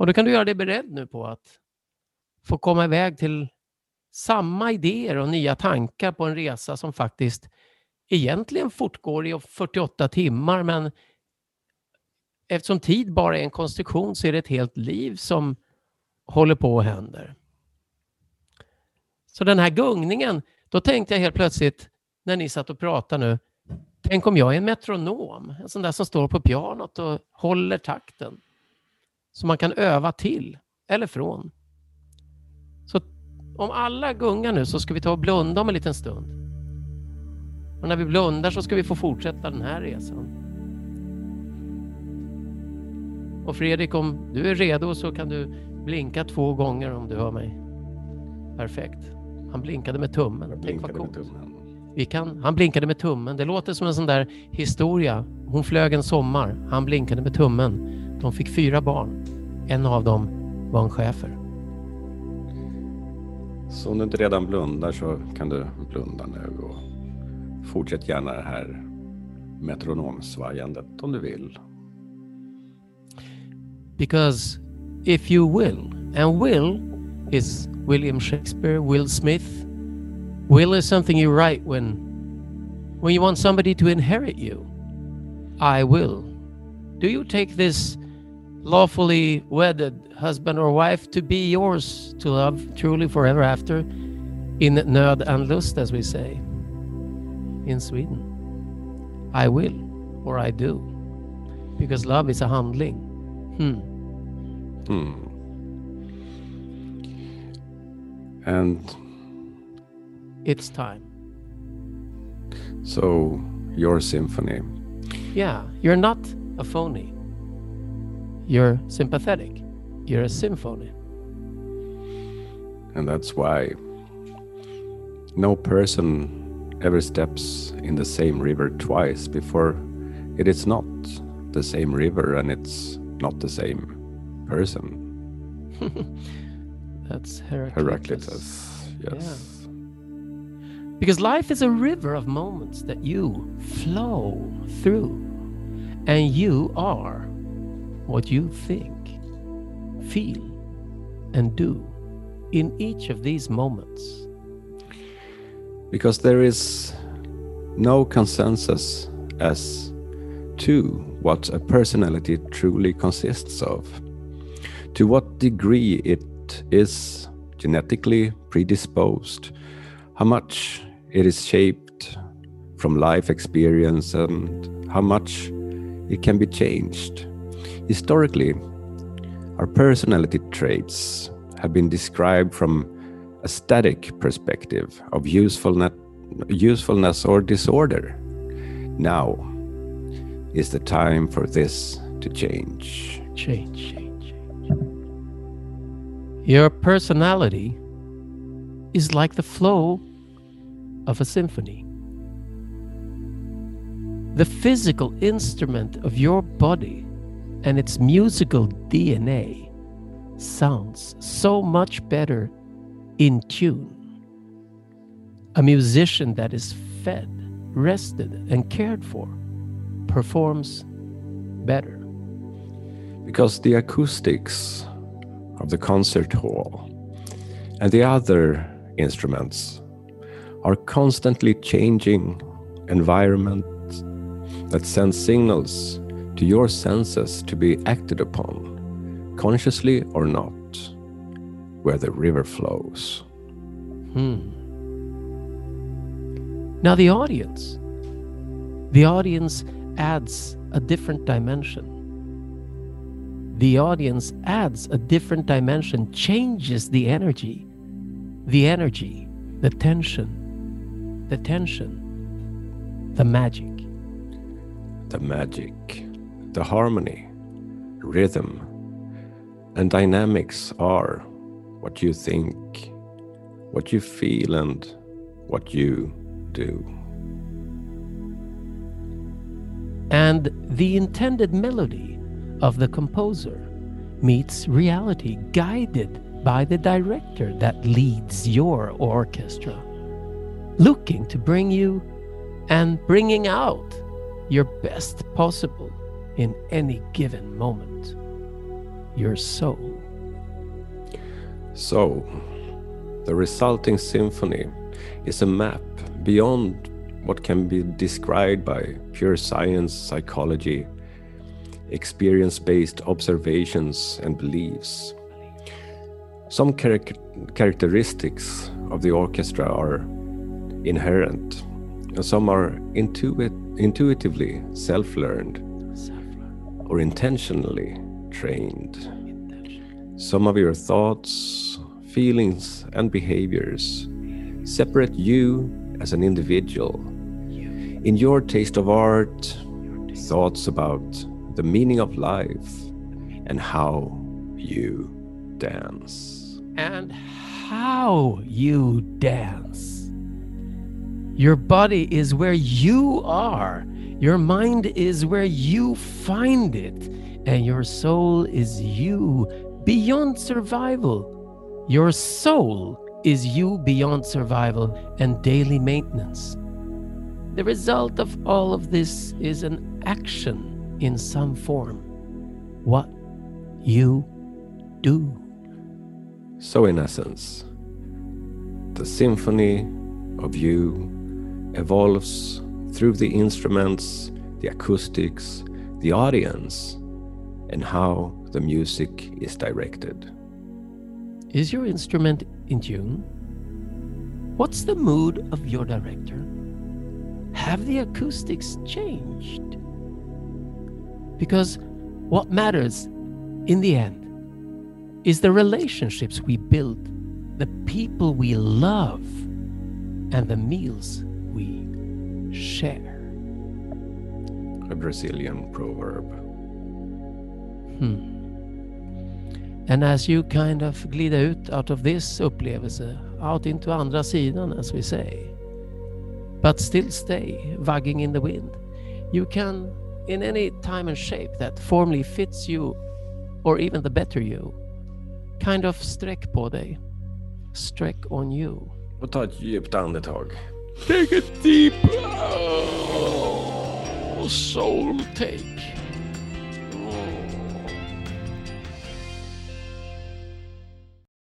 Och då kan du göra dig beredd nu på att få komma iväg till samma idéer och nya tankar på en resa som faktiskt egentligen fortgår i 48 timmar, men eftersom tid bara är en konstruktion så är det ett helt liv som håller på och händer. Så den här gungningen, då tänkte jag helt plötsligt när ni satt och pratade nu, tänk om jag är en metronom, en sån där som står på pianot och håller takten. Så man kan öva till eller från. Så om alla gungar nu så ska vi ta och blunda om en liten stund. Och när vi blundar så ska vi få fortsätta den här resan. Och Fredrik, om du är redo så kan du blinka 2 gånger om du hör mig. Perfekt. Han blinkade med tummen. Tänk vad coolt. Han blinkade med tummen. Det låter som en sån där historia. Hon flög en sommar. Han blinkade med tummen. De fick 4 barn. En av dem var en schäfer. Så om du inte redan blundar så kan du blunda nu och fortsätt gärna det här metronomsvajandet om du vill. Because if you will, and will is William Shakespeare, Will Smith. Will is something you write when you want somebody to inherit you. I will. Do you take this lawfully wedded husband or wife to be yours to love truly forever after, in nöd and lust, as we say in Sweden? I will, or I do. Because love is a handling. And it's time. So, your symphony. Yeah, you're not a phony. You're sympathetic. You're a symphony. And that's why no person ever steps in the same river twice before it is not the same river and it's not the same person. That's Heraclitus. Yes. Yeah. Because life is a river of moments that you flow through, and you are what you think, feel, and do in each of these moments. Because there is no consensus as to what a personality truly consists of, to what degree it is genetically predisposed, how much it is shaped from life experience, and how much it can be changed. Historically, our personality traits have been described from a static perspective of usefulness or disorder. Now is the time for this to change. Change. Your personality is like the flow of a symphony. The physical instrument of your body and its musical DNA sounds so much better in tune. A musician that is fed, rested, and cared for performs better. Because the acoustics of the concert hall and the other instruments are constantly changing environments that send signals to your senses to be acted upon, consciously or not, where the river flows. Now the audience adds a different dimension. The audience adds a different dimension, changes the energy, the tension, the magic. The magic, the harmony, rhythm, and dynamics are what you think, what you feel, and what you do. And the intended melody of the composer meets reality, guided by the director that leads your orchestra, looking to bring you and bringing out your best possible in any given moment. Your soul. So, the resulting symphony is a map beyond what can be described by pure science, psychology, experience-based observations and beliefs. Some characteristics of the orchestra are inherent, and some are intuitively self-learned or intentionally trained. Some of your thoughts, feelings, and behaviors separate you as an individual. In your taste of art, thoughts about the meaning of life, and how you dance. And how you dance. Your body is where you are. Your mind is where you find it. And your soul is you beyond survival. Your soul is you beyond survival and daily maintenance. The result of all of this is an action in some form. What you do. So in essence, the symphony of you evolves through the instruments, the acoustics, the audience, and how the music is directed. Is your instrument in tune? What's the mood of your director? Have the acoustics changed? Because what matters in the end is the relationships we build, the people we love, and the meals we share. A Brazilian proverb. And as you kind of glida ut out of this upplevelse, out into andra sidan, as we say, but still stay wagging in the wind, you can, in any time and shape that formally fits you, or even the better you, kind of sträck på dig. Sträck on you. Och ta ett djupt andetag. Take a deep soul take.